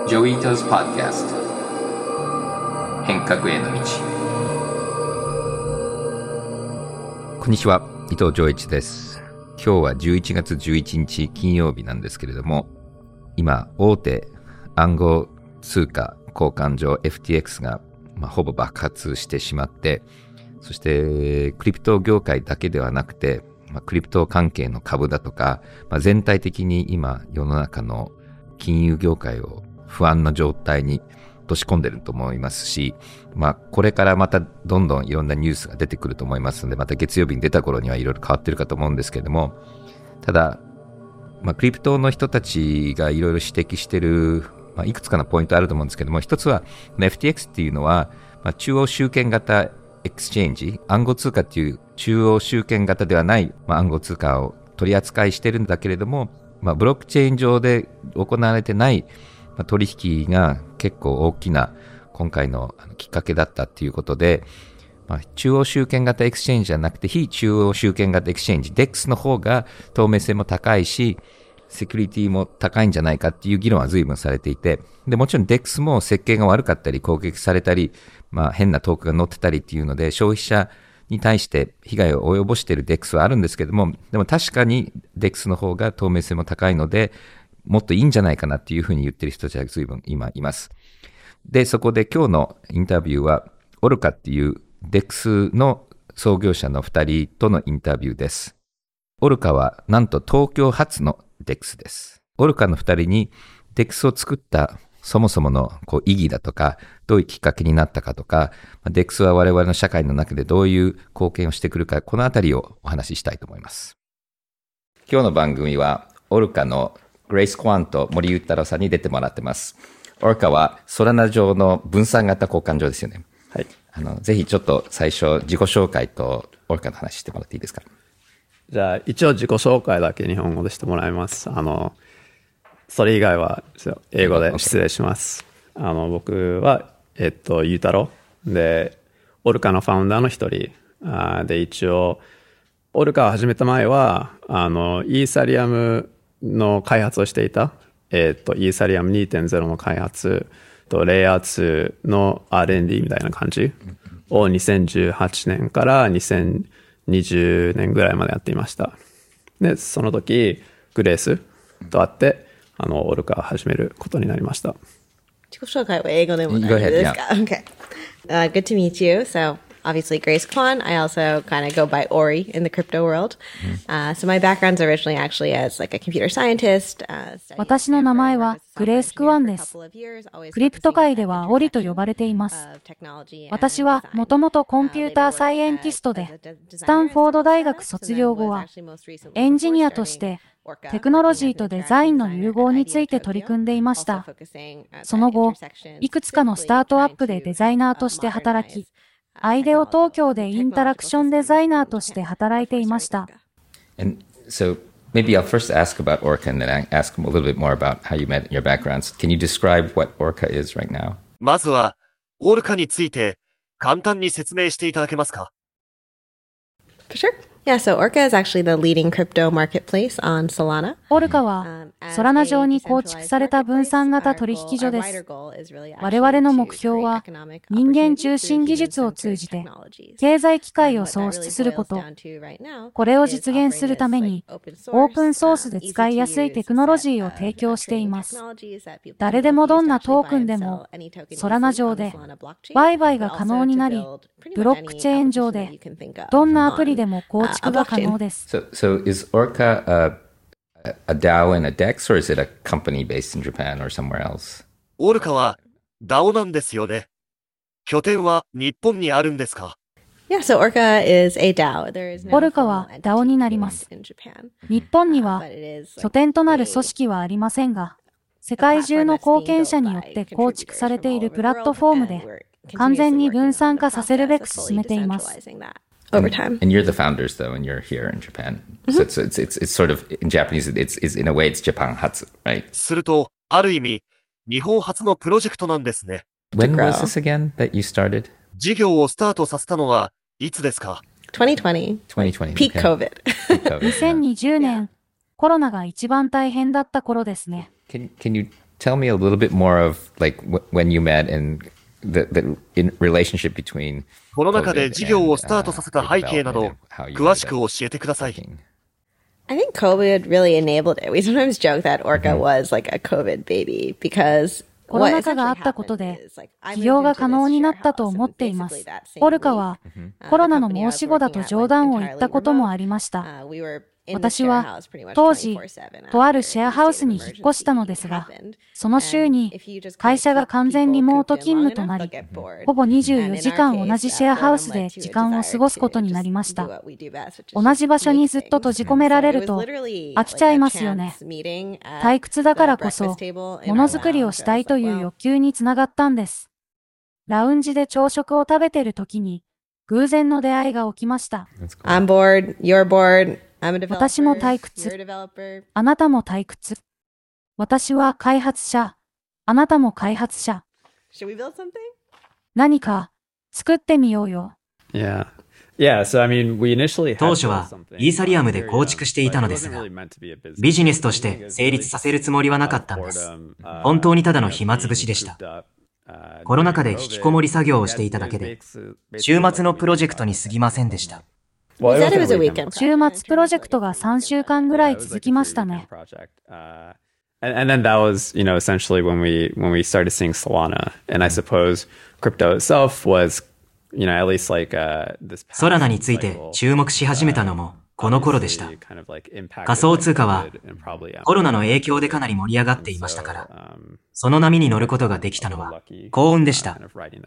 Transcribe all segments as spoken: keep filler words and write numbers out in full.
ジョイトズ・ポッドキャスト変革への道。こんにちは、伊藤浄一です。今日はじゅういちがつじゅういちにち金曜日なんですけれども、今大手暗号通貨交換所 エフティーエックス が、まあ、ほぼ爆発してしまって、そしてクリプト業界だけではなくて、まあ、クリプト関係の株だとか、まあ、全体的に今世の中の金融業界を不安な状態に落とし込んでると思いますし、まあこれからまたどんどんいろんなニュースが出てくると思いますので、また月曜日に出た頃にはいろいろ変わってるかと思うんですけれども、ただ、まあ、クリプトの人たちがいろいろ指摘してる、まあ、いくつかのポイントあると思うんですけども、一つは エフティーエックス っていうのは、まあ、中央集権型エクスチェンジ、暗号通貨っていう中央集権型ではない、まあ、暗号通貨を取り扱いしてるんだけれども、まあ、ブロックチェーン上で行われてない取引が結構大きな今回のきっかけだったっていうことで、まあ、中央集権型エクスチェンジじゃなくて非中央集権型エクスチェンジ デックス の方が透明性も高いしセキュリティも高いんじゃないかっていう議論は随分されていて、でもちろん デックス も設計が悪かったり攻撃されたり、まあ、変なトークが載ってたりっていうので消費者に対して被害を及ぼしている デックス はあるんですけども、でも確かに デックス の方が透明性も高いのでもっといいんじゃないかなっていうふうに言ってる人たちが随分今います。で、そこで今日のインタビューはオルカっていう デックス の創業者のふたりとのインタビューです。オルカはなんと東京発の デックス です。オルカのふたりに デックス を作ったそもそものこう意義だとか、どういうきっかけになったかとか、デックス は我々の社会の中でどういう貢献をしてくるか、このあたりをお話ししたいと思います。今日の番組はオルカのグレイス・クワンと森裕太郎さんに出てもらってます。オルカはソラナ上の分散型交換所ですよね。はい。あの、ぜひちょっと最初自己紹介とオルカの話してもらっていいですか。 じゃあ一応自己紹介だけ日本語でしてもらいます。あの、それ以外は英語で失礼します。Okay. あの、僕は、えっと、裕太郎で、オルカのファウンダーの一人あで、一応、オルカを始めた前は、あの、イーサリアムの開発をしていた、えっと、イーサリアム にてんゼロ の開発と、レイヤーツーの アールエンディー みたいな感じをにせんじゅうはちねんからにせんにじゅうねんぐらいまでやっていました。で、その時、グレースと会って、あの、オルカを始めることになりました。 自己紹介は英語でも大丈夫ですか？ Okay. Uh, good to meet you. So, obviously, Grace Kwan. I also kind of go by Ori in the crypto world. Uh, so, my background's originally actually as like a computer scientist. Uh, 私の名前はグレース・クワンです。クリプト界ではオリと呼ばれています。私はもともとコンピューターサイエンティストで、スタンフォード大学卒業後はエンジニアとしてテクノロジーとデザインの融合について取り組んでいました。その後、いくつかのスタートアップでデザイナーとして働き、アイデオ東京でインタラクションデザイナーとして働いていました。 And so maybe I'll first ask about Orca and then I ask a little bit more about how you met and your backgrounds. Can you describe what Orca is right now? まずは、オルカについて簡単に説明していただけますか？ For sure. Yeah, so Orca is actually the leading crypto marketplace on Solana. オルカはソラナ上に構築された分散型取引所です。我々の目標は人間中心技術を通じて経済機会を創出すること。これを実現するためにオープンソースで使いやすいテクノロジーを提供しています。誰でもどんなトークンでもソラナ上で売買が可能になり、ブロックチェーン上でどんなアプリでも構築が可能です。 So, so is Orca a, a DAO and a DEX, or is it a company based in Japan or somewhere else? オルカは ダオ なんですよね。拠点は日本にあるんですか？ Yeah, so Orca is a DAO. There is no オルカは ダオ になります。日本には拠点となる組織はありませんが、世界中の貢献者によって構築されているプラットフォームで完全に分散化させるべく進めています。 Over time. And you're the founders, though, and you're here in Japan. Mm-hmm. So it's, it's it's it's sort of in Japanese. It's it's in a way it's Japan hatsu, right? すると、ある意味、日本初のプロジェクトなんですね。 When was this again that you started? 事業をスタートさせたのはいつですか？ twenty twenty. twenty twenty. Peak okay. COVID. にせんにじゅうねん、コロナが一番大変だった頃ですね。 Can can you tell me a little bit more of like w- when you met and the, the in relationship between この中で事業をスタートさせた背景など、詳しく教えてください。 I think COVID really enabled it. We sometimes joke that Orca was like a COVID baby because コロナ禍があったことで、起業が可能になったと思っています。オルカは、コロナの申し子だと冗談を言ったこともありました。私は当時、とあるシェアハウスに引っ越したのですが、その週に会社が完全リモート勤務となり、ほぼにじゅうよじかん同じシェアハウスで時間を過ごすことになりました。同じ場所にずっと閉じ込められると飽きちゃいますよね。退屈だからこそ、ものづくりをしたいという欲求につながったんです。ラウンジで朝食を食べている時に、偶然の出会いが起きました。 I'm bored, you're bored. 私も退屈。あなたも退屈。私は開発者。あなたも開発者。何か作ってみようよ。 Yeah. Yeah, so I mean, we initially 当初はイーサリアムで構築していたのですが、ビジネスとして成立させるつもりはなかったんです。本当にただの暇つぶしでした。コロナ禍で引きこもり作業をしていただけで、週末のプロジェクトに過ぎませんでした。 週末プロジェクトがさんしゅうかんぐらい続きましたね。 And then that was, you know, essentially when we when we started seeing Solana, and I suppose crypto itself was, you know, at least like this. ソラナについて注目し始めたのもこの頃でした。仮想通貨はコロナの影響でかなり盛り上がっていましたから、その波に乗ることができたのは幸運でした。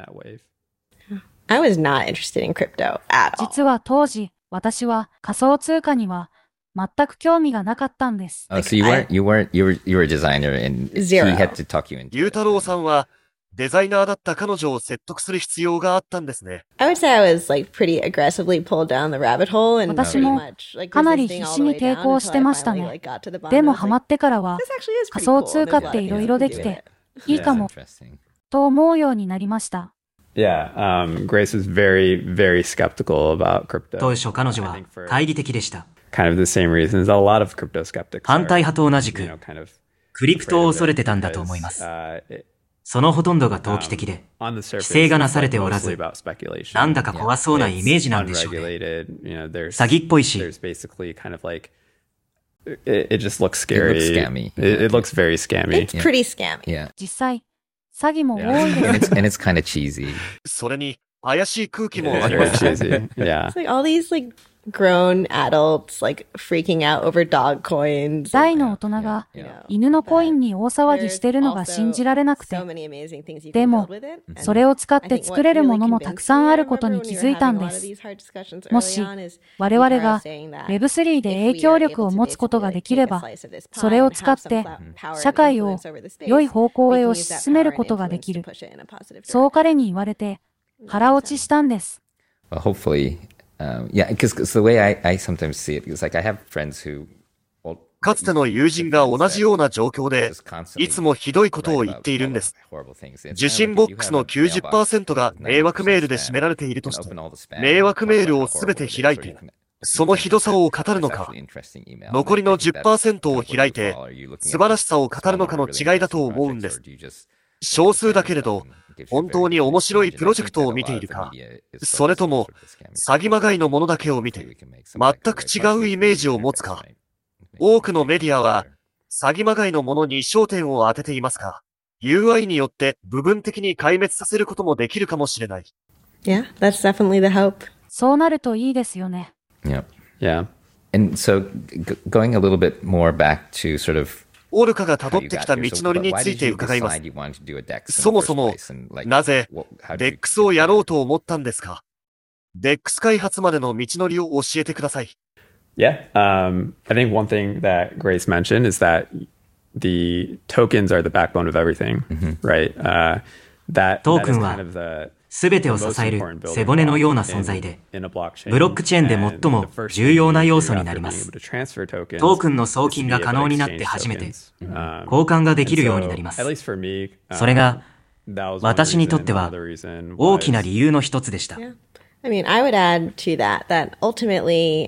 I was not interested in crypto at all. 実は当時、私は仮想通貨には全く興味がなかったんです。 Oh, so you weren't, you weren't, you were, you were a designer and he had to talk you into it. ゆうたろうさんはデザイナーだった彼女を説得する必要があったんですね。 I would say I was like pretty aggressively pulled down the rabbit hole and 私もかなり必死に抵抗してましたね。でもハマってからは仮想通貨っていろいろできていいかもと思うようになりました。 Yeah, um, Grace was very, very skeptical about crypto. 当初彼女は懐疑的でした。 Kind of the same reasons a lot of crypto skeptics. 反対派と同じく、クリプトを恐れてたんだと思います。そのほとんどが投機的で、規制がなされておらず、なんだか怖そうなイメージなんでしょうね。詐欺っぽいし、 It, it just looks scary. It looks scammy. It, it looks very scammy. It's pretty scammy. Yeah. 実際、詐欺も多いで And す。 it's, and it's kind of cheesy. それに怪しい空気もあ It's りま very す。 cheesy. Yeah. It's like all these like grown adults like freaking out over dog coins. 大の大人が犬のコインに大騒ぎしてるのが信じられなくて、でもそれを使って作れるものもたくさんあることに気づいたんです。もし我々が ウェブスリー で影響力を持つことができれば、それを使って社会を良い方向へ推し進めることができる。そう彼に言われて腹落ちしたんです。 Well, hopefully, um, yeah, because the way I, I sometimes see it is like I have friends who かつての友人が同じような状況で、いつもひどいことを言っているんです。受信ボックスの きゅうじゅっパーセント が迷惑メールで占められているとして、迷惑メールをすべて開いて、そのひどさを語るのか、残りの じゅっパーセント を開いて、素晴らしさを語るのかの違いだと思うんです。少数だけれど、本当に面白いプロジェクトを見ているか、それとも詐欺まがいのものだけを見て、全く違うイメージを持つか、多くのメディアは詐欺まがいのものに焦点を当てていますが、ユーアイ によって部分的に壊滅させることもできるかもしれない。 Yeah, that's definitely the hope. そうなるといいですよね。 Yeah. Yeah. And so g- going a little bit more back to sort of オルカが辿ってきた道のりについて伺います。そもそも、なぜ デックス をやろうと思ったんですか？ デックス 開発までの道のりを教えてください。 Yeah, um, I think one thing that Grace mentioned is that the tokens are the backbone of everything, mm-hmm. right? Uh, that, トークンはすべてを支える背骨のような存在で、ブロックチェーンで最も重要な要素になります。トークンの送金が可能になって初めて、交換ができるようになります。それが、私にとっては大きな理由の一つでした。 I mean, I would add to that that ultimately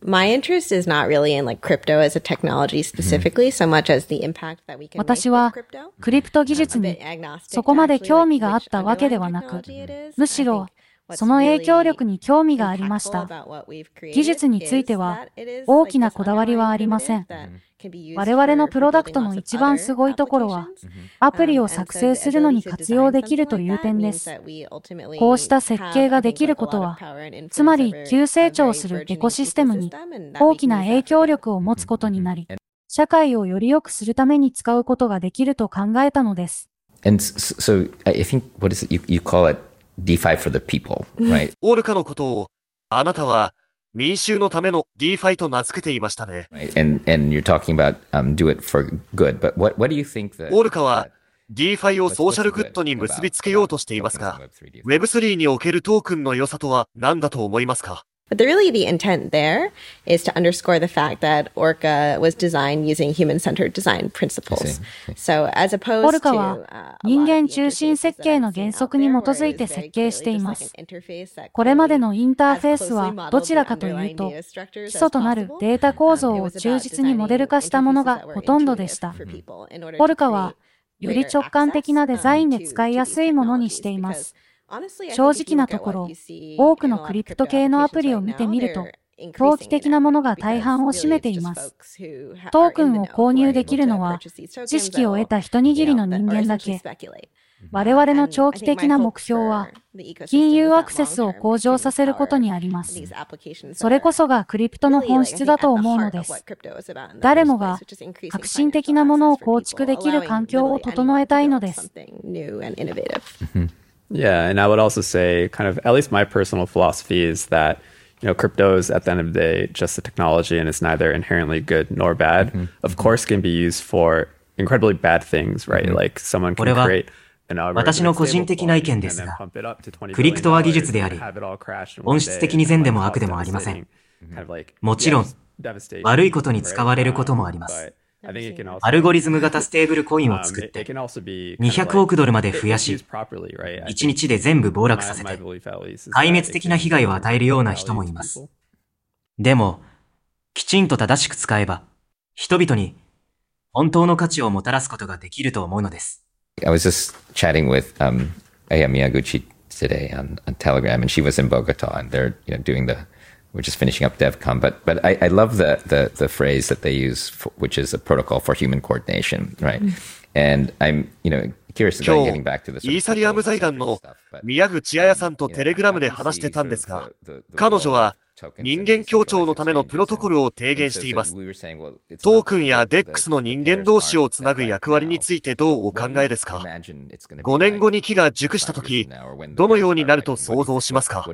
My interest is not really in like crypto as a technology specifically, so much as the impact that we can make with crypto. 私はクリプト技術にそこまで興味があったわけではなく、むしろその影響力に興味がありました。技術については大きなこだわりはありません。我々のプロダクトの一番すごいところは、アプリを作成するのに活用できるという点です。こうした設計ができることは、つまり急成長するエコシステムに大きな影響力を持つことになり、社会をより良くするために使うことができると考えたのです。 And so I think, what is it, you, you call it DeFi for the people, right? オールカのことを、あなたは民衆のための DeFi と名付けていましたね。 And, and you're talking about、um, do it for good, but what, what do you think that... オールカは DeFi をソーシャルグッドに結びつけようとしていますが、ウェブスリー におけるトークンの良さとは何だと思いますか？ But the, really the intent there is to underscore the fact that Orca was designed using human-centered design principles. So as opposed to... オルカは人間中心設計の原則に基づいて設計しています。これまでのインターフェースはどちらかというと、基礎となるデータ構造を忠実にモデル化したものがほとんどでした。オルカはより直感的なデザインで使いやすいものにしています。正直なところ、多くのクリプト系のアプリを見てみると、投機的なものが大半を占めています。トークンを購入できるのは、知識を得た一握りの人間だけ。我々の長期的な目標は、金融アクセスを向上させることにあります。それこそがクリプトの本質だと思うのです。誰もが革新的なものを構築できる環境を整えたいのです。 Yeah, and I would also say, kind of, at least my personal philosophy is that, you know, crypto is at the end of the day just a technology and it's neither inherently good nor bad. Mm-hmm. Of course, can be used for incredibly bad things, right? Mm-hmm. Like someone can create an algorithm. 私の個人的な意見ですが、クリプトは技術であり、本質的に善でも悪でもありません。もちろん、悪いことに使われることもあります。アルゴリズム型ステーブルコインを作ってにひゃくおくドルまで増やし、いちにちで全部暴落させて、壊滅的な被害を与えるような人もいます。でも、きちんと正しく使えば、人々に本当の価値をもたらすことができると思うのです。 I was just chatting with um, Aya Miyaguchi today on, on Telegram, and she was in Bogota, and they're you know doing the We're just finishing up DevCon, but but I, I love the, the the phrase that they use, for, which is a protocol for human coordination, right? Mm. And I'm you know curious about getting back to this. イーサリアム財団の宮口彩さんとテレグラムで話してたんですが、彼女は人間協調のためのプロトコルを提言しています。トークンや デックス の人間同士をつなぐ役割についてどうお考えですか？ごねんごに木が熟したとき、どのようになると想像しますか？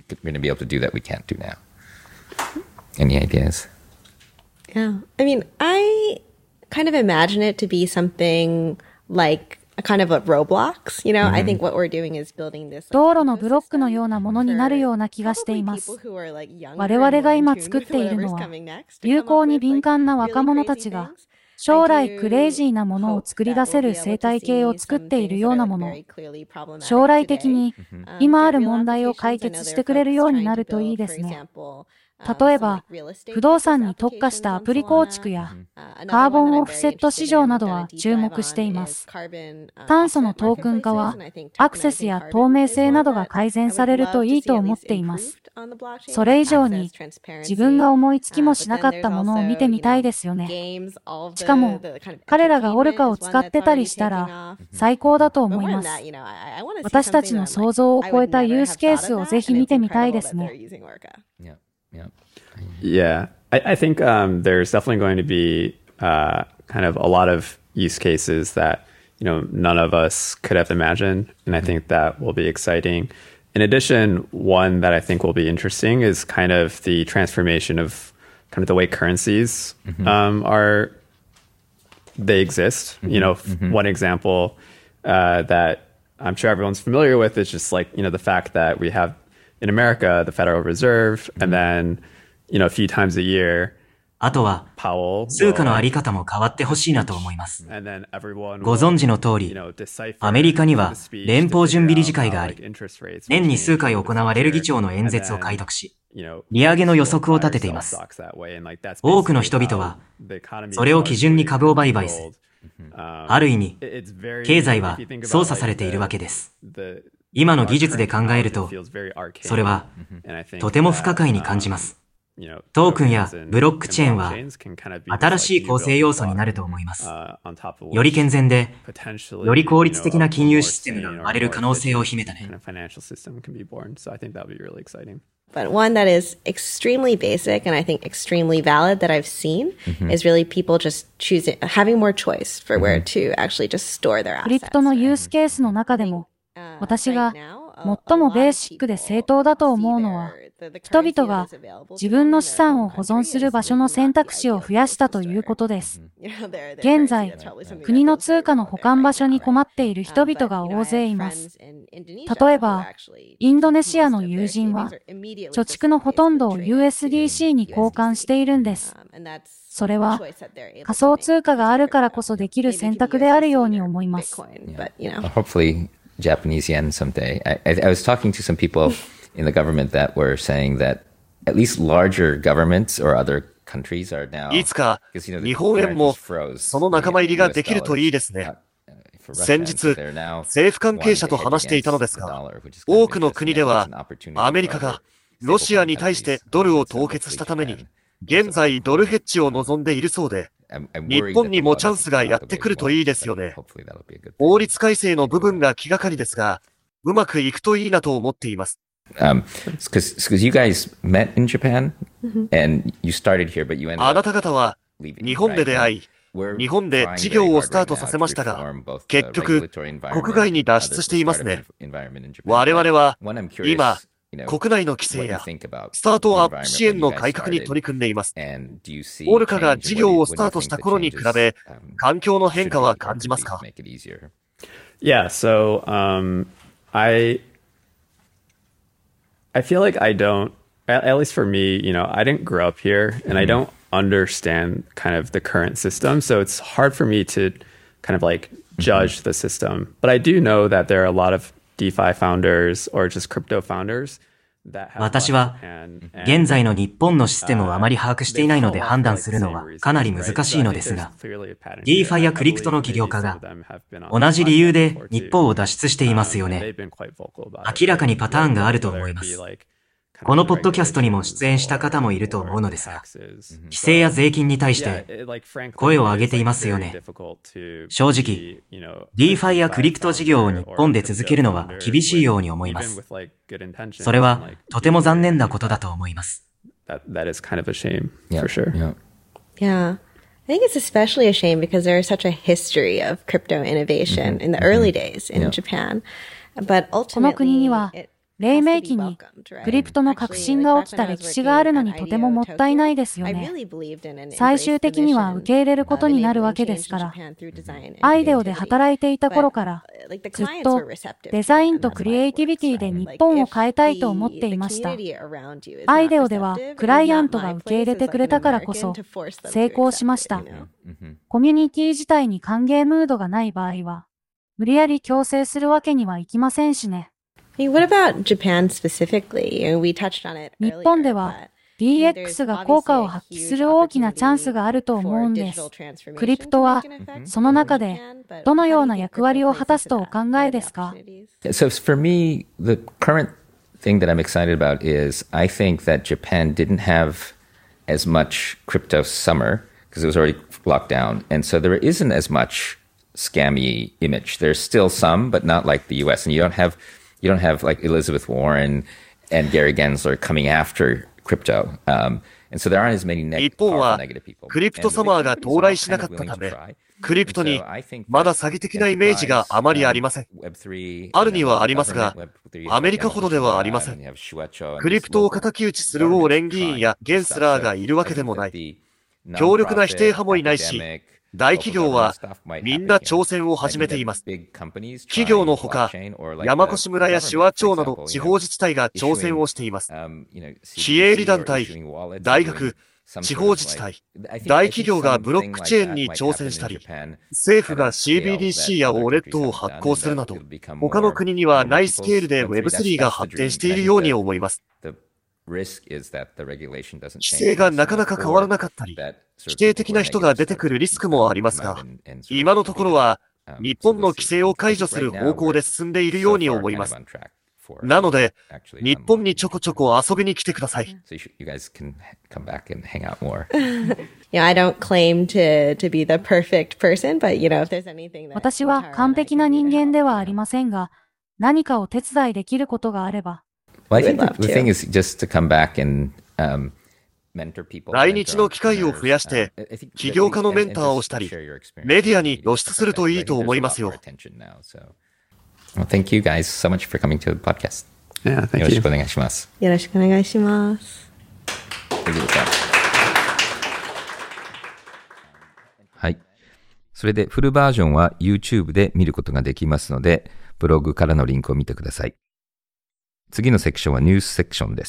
Any ideas? Yeah. I mean, I kind of imagine it to be something like a kind of a Roblox. You know, mm-hmm. I think what we're doing is building this. 道路のブロックのようなものになるような気がしています。我々が今作っているのは、流行に敏感な若者たちが、将来クレイジーなものを作り出せる生態系を作っているようなもの。将来的に今ある問題を解決してくれるようになるといいですね。例えば、不動産に特化したアプリ構築やカーボンオフセット市場などは注目しています。炭素のトークン化はアクセスや透明性などが改善されるといいと思っています。それ以上に自分が思いつきもしなかったものを見てみたいですよね。しかも彼らがオルカを使ってたりしたら最高だと思います。私たちの想像を超えたユースケースをぜひ見てみたいですね。 Yeah, I, I think um, there's definitely going to be uh, kind of a lot of use cases that, you know, none of us could have imagined, and I think that will be exciting. In addition, one that I think will be interesting is kind of the transformation of kind of the way currencies mm-hmm. um, are, they exist. Mm-hmm. You know, mm-hmm. one example uh, that I'm sure everyone's familiar with is just like, you know, the fact that we have in America, the Federal Reserve, and then, you know, a few times a year, あとは、通貨のあり方も変わってほしいなと思います。ご存知の通り、アメリカには連邦準備理事会があり、年に数回行われる議長の演説を解読し、利上げの予測を立てています。多くの人々は、それを基準に株を売買する。ある意味、経済は操作されているわけです。今の技術で考えると、それはとても不可解に感じます。トークンやブロックチェーンは新しい構成要素になると思います。より健全で、より効率的な金融システムが生まれる可能性を秘めたね。 But one that is extremely basic and I think extremely valid that I've seen mm-hmm. is really people just choosing, having more choice for where to actually just store their assets. クリプトのユースケースの中でも、私が最もベーシックで正当だと思うのは、人々が自分の資産を保存する場所の選択肢を増やしたということです。現在、国の通貨の保管場所に困っている人々が大勢います。例えば、インドネシアの友人は、貯蓄のほとんどを ユーエスディーシー に交換しているんです。それは仮想通貨があるからこそできる選択であるように思います。 Hopefully, Japanese yen someday. I, I, I was talking to some people in the government that were saying that at least larger governments or other countries are now いつか日本円もその仲間入りができるといいですね。先日、政府関係者と話していたのですが、多くの国ではアメリカがロシアに対してドルを凍結したために、現在ドルヘッジを望んでいるそうで、日本にもチャンスがやってくるといいですよね。法律改正の部分が気がかりですが、うまくいくといいなと思っています。 Um, because you guys met in Japan and you started here, but you ended up あなた方は日本で出会い、日本で事業をスタートさせましたが、結局、国外に脱出していますね。我々は今、国内の規制やスタートアップ支援の改革に取り組んでいます。オルカが事業をスタートした頃に比べ、環境の変化は感じますか？ Yeah, so, um, I, I feel like I don't, at, at least for me, you know, I didn't grow up here and I don't understand kind of the current system. So it's hard for me to kind of like judge the system. But I do know that there are a lot of DeFi founders or just crypto founders. 私は現在の日本のシステムをあまり把握していないので判断するのはかなり難しいのですが、DeFi やクリプトの起業家が同じ理由で日本を脱出していますよね。明らかにパターンがあると思います。このポッドキャストにも出演した方もいると思うのですが、規制や税金に対して声を上げていますよね。正直、DeFi やクリプト事業を日本で続けるのは厳しいように思います。それはとても残念なことだと思います。 That is kind of a shame, for sure. Yeah. I think it's especially a shame because there is such a history of crypto innovation in the early days in Japan. But ultimately, 黎明期にクリプトの革新が起きた歴史があるのにとてももったいないですよね。最終的には受け入れることになるわけですから、アイデオで働いていた頃からずっとデザインとクリエイティビティで日本を変えたいと思っていました。アイデオではクライアントが受け入れてくれたからこそ成功しました。コミュニティ自体に歓迎ムードがない場合は、無理やり強制するわけにはいきませんしね。 What about Japan specifically? We touched on it earlier. 日本では ディーエックス が効果を発揮する大きなチャンスがあると思うんです。クリプトはその中でどのような役割を果たすとお考えですか？ So for me, the current thing that I'm excited about is I think that Japan didn't have as much crypto summer because it was already locked down. And so there isn't as much scammy image. There's still some, but not like the U S. And you don't have You don't have like Elizabeth Warren and Gary Gensler coming after crypto. Um, and so there aren't as many negative, 一方は negative people. クリプトサマーが到来しなかったため、クリプトにまだ詐欺的なイメージがあまりありません。あるにはありますが、アメリカほどではありません。クリプトを敵討ちするウォーレン議員やゲンスラーがいるわけでもない。強力な否定派もいないし、大企業はみんな挑戦を始めています。企業のほか、山越村や手話町など地方自治体が挑戦をしています。非営利団体、大学、 地方自治体、大企業がブロックチェーンに挑戦したり、政府が シービーディーシー やウォレットを発行するなど、他の国にはないスケールで ウェブスリー が発展しているように思います。規制がなかなか変わらなかったり、否定的な人が出てくるリスクもありますが、今のところは日本の規制を解除する方向で進んでいるように思います。なので、日本にちょこちょこ遊びに来てください。 私は完璧な人間ではありませんが、何かを手伝いできることがあれば。 Well, I think the thing is just to come back and, um, 来日の機会を増やして、起業家のメンターをしたり、メディアに露出するといいと思いますよ。 Well, thank you guys so much for coming to the podcast. Yeah, thank you. よろしくお願いします。 よろしくお願いします。 はい。それでフルバージョンは YouTube で見ることができますので、ブログからのリンクを見てください。次のセクションはニュースセクションです。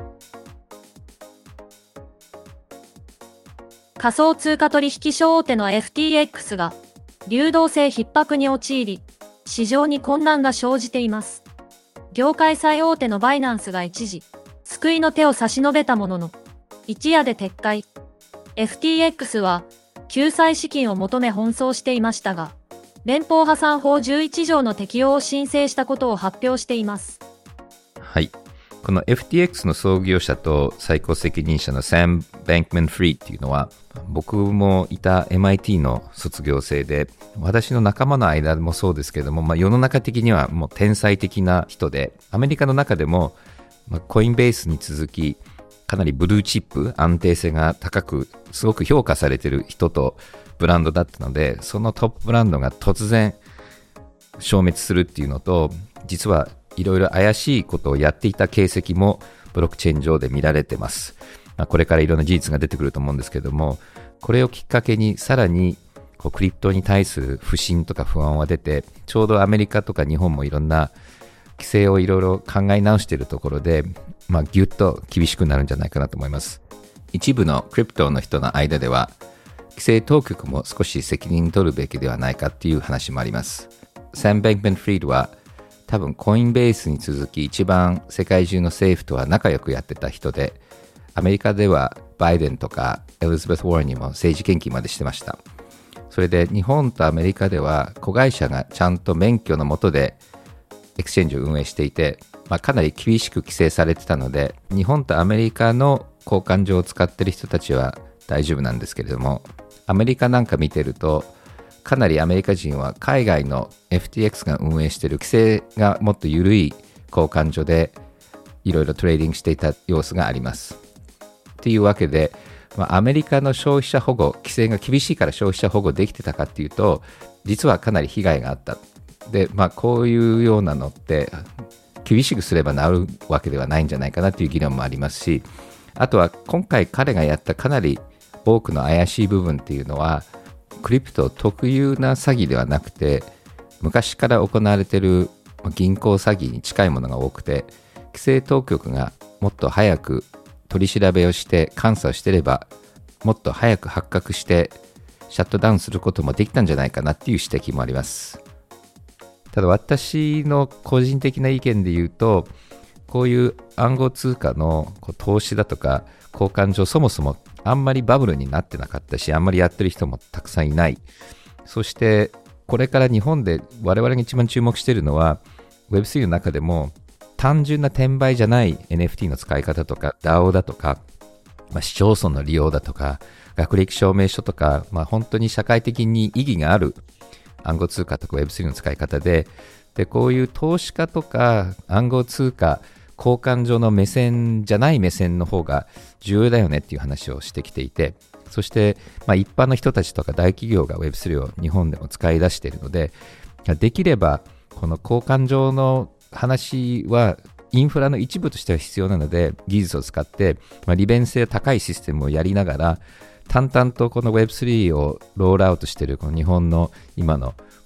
仮想通貨取引所大手の エフティーエックス が流動性逼迫に陥り、市場に混乱が生じています。業界最大手のバイナンスが一時、救いの手を差し伸べたものの、一夜で撤回。エフティーエックス は救済資金を求め奔走していましたが、連邦破産法じゅういち条の適用を申請したことを発表しています。 はい。この エフティーエックス の創業者と最高責任者のサム・バンクマン・フリーっていうのは、僕もいた エムアイティー の卒業生で、私の仲間の間もそうですけども、まあ、世の中的にはもう天才的な人で、アメリカの中でも、まあ、コインベースに続き、かなりブルーチップ、安定性が高く、すごく評価されている人とブランドだったので、そのトップブランドが突然消滅するっていうのと、実はいろいろ怪しいことをやっていた形跡もブロックチェーン上で見られてます。まあ、これからいろんな事実が出てくると思うんですけども、これをきっかけにさらにこうクリプトに対する不信とか不安は出て、ちょうどアメリカとか日本もいろんな規制をいろいろ考え直しているところで、まあ、ぎゅっと厳しくなるんじゃないかなと思います。一部のクリプトの人の間では、規制当局も少し責任取るべきではないかっていう話もあります。サム・バンクマン・フリードは多分コインベースに続き一番世界中の政府とは仲良くやってた人で、アメリカではバイデンとかエリザベス・ウォーレンにも政治献金までしてました。それで日本とアメリカでは子会社がちゃんと免許の下でエクスチェンジを運営していて、まあ、かなり厳しく規制されてたので、日本とアメリカの交換所を使ってる人たちは大丈夫なんですけれども、アメリカなんか見てるとかなりアメリカ人は海外の エフティーエックス が運営している規制がもっと緩い交換所でいろいろトレーディングしていた様子があります。というわけで、まあ、アメリカの消費者保護、規制が厳しいから消費者保護できてたかっていうと、実はかなり被害があった。で、まあ、こういうようなのって厳しくすれば治るわけではないんじゃないかなという議論もありますし、あとは今回彼がやったかなり多くの怪しい部分っていうのはクリプト特有な詐欺ではなくて、昔から行われている銀行詐欺に近いものが多くて、規制当局がもっと早く取り調べをして監査をしていれば、もっと早く発覚してシャットダウンすることもできたんじゃないかなっていう指摘もあります。ただ私の個人的な意見で言うと、こういう暗号通貨のこう投資だとか交換所、そもそもあんまりバブルになってなかったし、あんまりやってる人もたくさんいない。そしてこれから日本で我々が一番注目しているのは ウェブスリー の中でも単純な転売じゃない エヌエフティー の使い方とか ダオ だとか、まあ、市町村の利用だとか学歴証明書とか、まあ、本当に社会的に意義がある暗号通貨とか ウェブスリー の使い方で、でこういう投資家とか暗号通貨交換所の目線じゃない目線の方が重要だよねっていう話をしてきていて、そして、まあ、一般の人たちとか大企業が ウェブスリー を日本でも使い出しているので、できればこの交換所の話はインフラの一部としては必要なので、技術を使って、まあ、利便性高いシステムをやりながら淡々とこの ウェブスリー をロールアウトしているこの日本の今の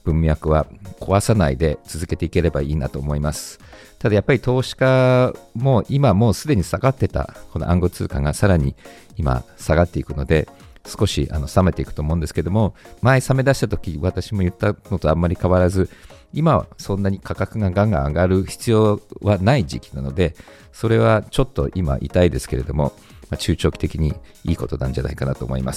文脈は壊さないで続けていければいいなと思います。ただやっぱり投資家も今もうすでに下がってたこの暗号通貨がさらに今下がっていくので、少しあの冷めていくと思うんですけども、前冷め出した時私も言ったのとあんまり変わらず、今はそんなに価格がガンガン上がる必要はない時期なので、それはちょっと今痛いですけれども、まあ、中長期的にいいことなんじゃないかなと思います。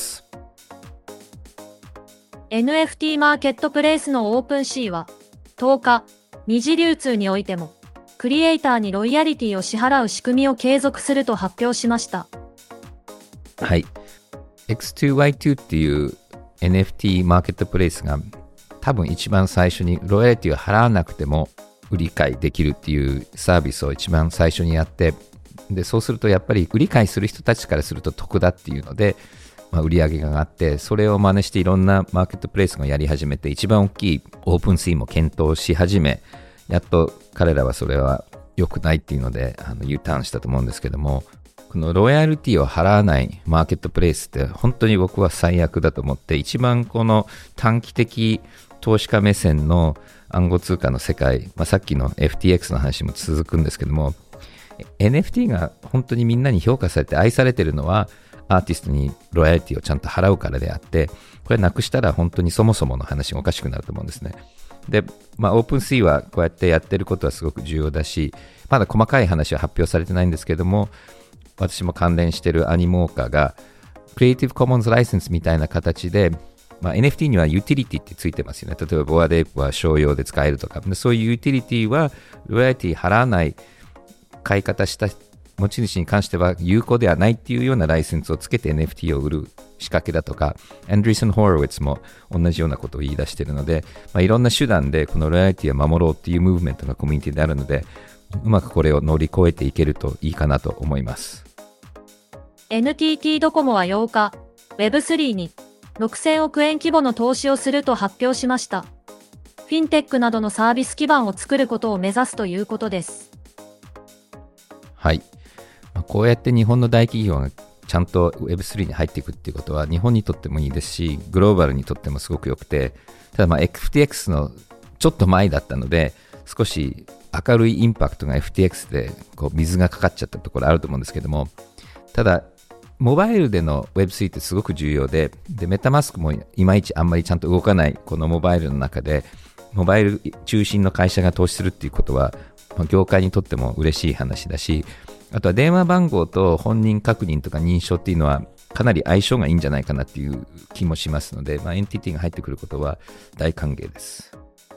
エヌエフティー マーケットプレイスのオープンシーはとおか、二次流通においてもクリエイターにロイヤリティを支払う仕組みを継続すると発表しました。 はい。エックスツーワイツー っていう エヌエフティー マーケットプレイスが多分一番最初にロイヤリティを払わなくても売り買いできるっていうサービスを一番最初にやって、でそうするとやっぱり売り買いする人たちからすると得だっていうので、まあ、売り上げが上がって、それを真似していろんなマーケットプレイスがやり始めて、一番大きいオープンシーも検討し始め、やっと彼らはそれは良くないっていうのであの U ターンしたと思うんですけども、このロイヤリティを払わないマーケットプレイスって本当に僕は最悪だと思って、一番この短期的投資家目線の暗号通貨の世界、まあ、さっきの エフティーエックス の話も続くんですけども、 エヌエフティー が本当にみんなに評価されて愛されてるのはアーティストにロイヤリティをちゃんと払うからであって、これなくしたら本当にそもそもの話がおかしくなると思うんですね。で、まあ、オープンシーはこうやってやってることはすごく重要だし、まだ細かい話は発表されてないんですけども、私も関連しているアニモーカがクリエイティブコモンズライセンスみたいな形で、まあ、エヌエフティー にはユーティリティってついてますよね。例えばボアデープは商用で使えるとか、そういうユーティリティはロイヤリティ払わない買い方した持ち主に関しては有効ではないっていうようなライセンスをつけて エヌエフティー を売る仕掛けだとか、アンドリーソン・ホロウィッツも同じようなことを言い出しているので、まあ、いろんな手段でこのロイヤリティを守ろうっていうムーブメントがコミュニティであるので、うまくこれを乗り越えていけるといいかなと思います。 エヌティーティー ドコモはようか、ウェブスリー にろくせんおくえん規模の投資をすると発表しました。フィンテックなどのサービス基盤を作ることを目指すということです。 はい。こうやって日本の大企業がちゃんと ウェブスリー に入っていくっていうことは日本にとってもいいですし、グローバルにとってもすごく良くて、ただまあ エフティーエックス のちょっと前だったので、少し明るいインパクトが エフティーエックス でこう水がかかっちゃったところあると思うんですけども、ただモバイルでの ウェブスリー ってすごく重要で、でメタマスクもいまいちあんまりちゃんと動かないこのモバイルの中で、モバイル中心の会社が投資するっていうことは、まあ、業界にとっても嬉しい話だし、あとは電話番号と本人確認とか認証っていうのはかなり相性がいいんじゃないかなっていう気もしますので、まあ、エヌティーティー が入ってくることは大歓迎です。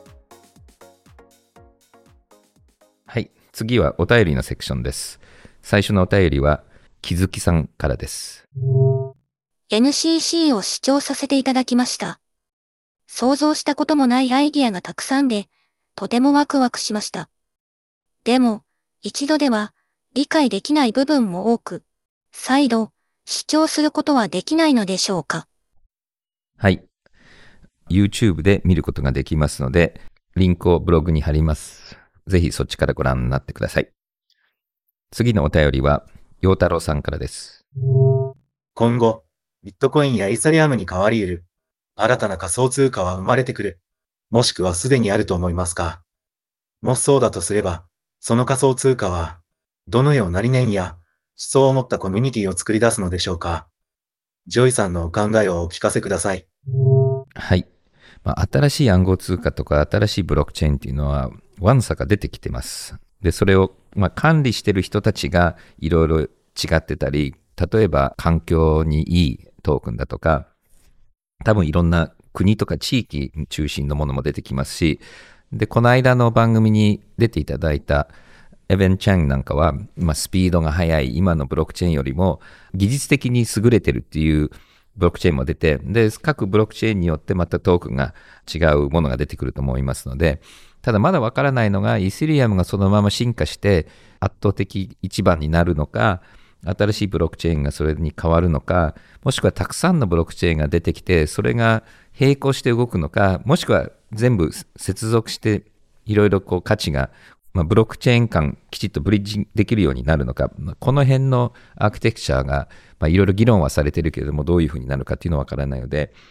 はい、次はお便りのセクションです。最初のお便りは木月さんからです。 エヌシーシー を視聴させていただきました。想像したこともないアイディアがたくさんで、とてもワクワクしました。でも、一度では理解できない部分も多く、再度視聴することはできないのでしょうか。 はい。YouTube で見ることができますので、リンクをブログに貼ります。ぜひそっちからご覧になってください。次のお便りは、陽太郎さんからです。 今後、ビットコインやイーサリアムに変わり得る、新たな仮想通貨は生まれてくる、もしくはすでにあると思いますか。もしそうだとすれば、その仮想通貨は、どのような理念や思想を持ったコミュニティを作り出すのでしょうか。ジョイさんのお考えをお聞かせください。 はい。まあ、新しい暗号通貨とか新しいブロックチェーンっていうのは、わんさか出てきてます。で、それを、まあ、管理してる人たちがいろいろ違ってたり、例えば環境にいいトークンだとか、多分いろんな国とか地域中心のものも出てきますし、で、この間の番組に出ていただいたエヴェン・チャンなんかは、まあ、スピードが速い今のブロックチェーンよりも技術的に優れてるっていうブロックチェーンも出て、で、各ブロックチェーンによってまたトークンが違うものが出てくると思いますので、ただまだわからないのが、イーサリアムがそのまま進化して圧倒的一番になるのか、新しいブロックチェーンがそれに変わるのか、もしくはたくさんのブロックチェーンが出てきて、それが並行して動くのか、もしくは全部接続していろいろこう価値が、まあ、ブロックチェーン間きちっとブリッジできるようになるのか、この辺のアーキテクチャがいろいろ議論はされてるけれども、どういうふうになるかっていうのはわからないので、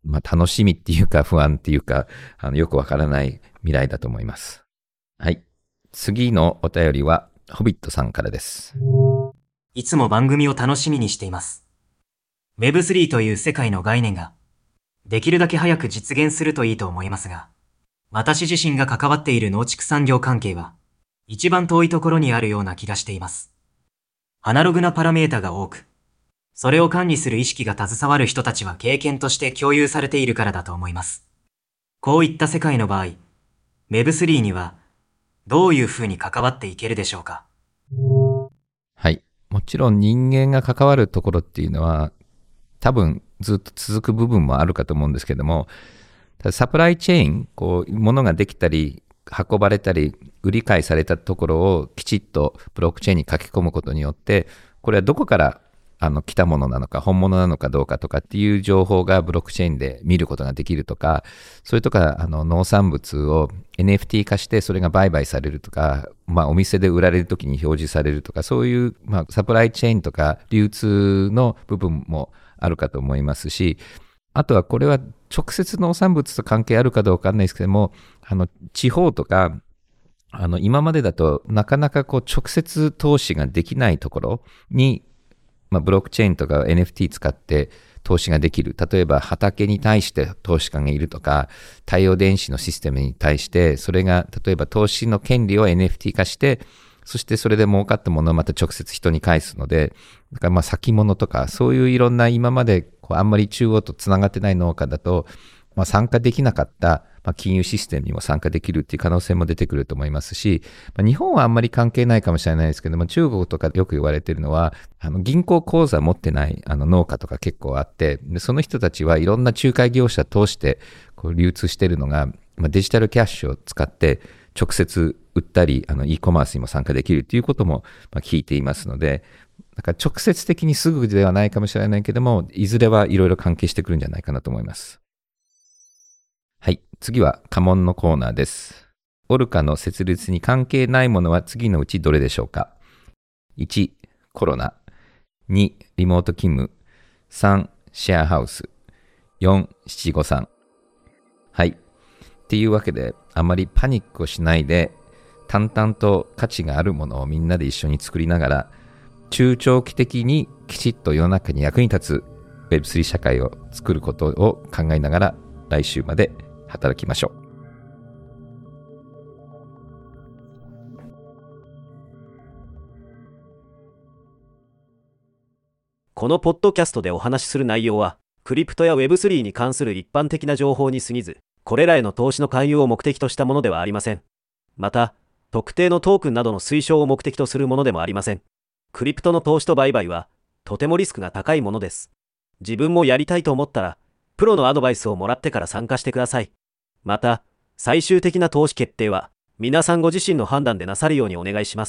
まあ、楽しみっていうか不安っていうか、あのよくわからない未来だと思います。はい。次のお便りは、ホビットさんからです。 いつも番組を楽しみにしています。ウェブスリー という世界の概念が、できるだけ早く実現するといいと思いますが、私自身が関わっている農畜産業関係は、一番遠いところにあるような気がしています。アナログなパラメータが多く、それを管理する意識が携わる人たちは経験として共有されているからだと思います。こういった世界の場合、ウェブスリー にはどういうふうに関わっていけるでしょうか。 はい。もちろん人間が関わるところっていうのは多分ずっと続く部分もあるかと思うんですけども、サプライチェーン、こう物ができたり運ばれたり売り買いされたところをきちっとブロックチェーンに書き込むことによって、これはどこからあの来たものなのか本物なのかどうかとかっていう情報がブロックチェーンで見ることができるとか、それとかあの農産物を エヌエフティー 化してそれが売買されるとか、まあ、お店で売られるときに表示されるとか、そういう、まあ、サプライチェーンとか流通の部分もあるかと思いますし、あとはこれは直接農産物と関係あるかどうかわかんないですけども、あの地方とかあの今までだとなかなかこう直接投資ができないところに、まあ、ブロックチェーンとか エヌエフティー 使って投資ができる。例えば畑に対して投資家がいるとか、太陽電子のシステムに対してそれが例えば投資の権利を エヌエフティー 化して、そしてそれで儲かったものをまた直接人に返すので、だからまあ先物とかそういういろんな今までこうあんまり中央とつながってない農家だと、まあ、参加できなかった、まあ、金融システムにも参加できるっていう可能性も出てくると思いますし、まあ、日本はあんまり関係ないかもしれないですけども、中国とかよく言われているのは、あの銀行口座持ってないあの農家とか結構あって、でその人たちはいろんな仲介業者通してこう流通しているのが、まあ、デジタルキャッシュを使って直接売ったり、あの e コマースにも参加できるということもまあ聞いていますので、だから直接的にすぐではないかもしれないけども、いずれはいろいろ関係してくるんじゃないかなと思います。はい。次は家紋のコーナーです。オルカの設立に関係ないものは次のうちどれでしょうか。いち、コロナ。に、リモート勤務。さん、シェアハウス。よん、七五三。はい。っていうわけで、あまりパニックをしないで、淡々と価値があるものをみんなで一緒に作りながら、中長期的にきちっと世の中に役に立つ ウェブスリー 社会を作ることを考えながら、来週まで働きましょう。 このポッドキャストでお話しする内容は、クリプトや ウェブスリー に関する一般的な情報に過ぎず、これらへの投資の勧誘を目的としたものではありません。また、特定のトークンなどの推奨を目的とするものでもありません。クリプトの投資と売買は、とてもリスクが高いものです。自分もやりたいと思ったら、プロのアドバイスをもらってから参加してください。また、最終的な投資決定は、皆さんご自身の判断でなさるようにお願いします。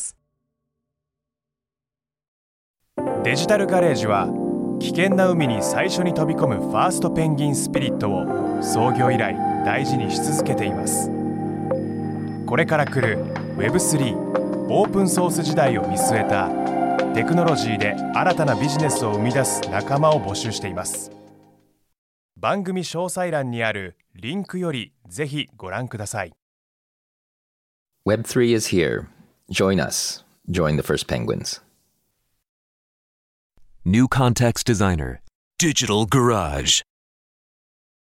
デジタルガレージは、危険な海に最初に飛び込むファーストペンギンスピリットを創業以来大事にし続けています。これから来る ウェブスリー オープンソース時代を見据えたテクノロジーで新たなビジネスを生み出す仲間を募集しています。番組詳細欄にあるリンクよりぜひご覧ください。 ウェブスリー is here. Join us. Join the first penguins. New Context Designer, Digital Garage.